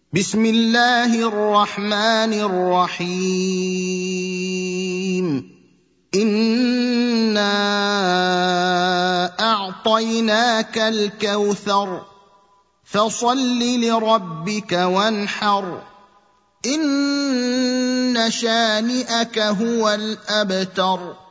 بسم الله الرحمن الرحيم إنا أعطيناك الكوثر فصل لربك وانحر إن شانئك هو الأبتر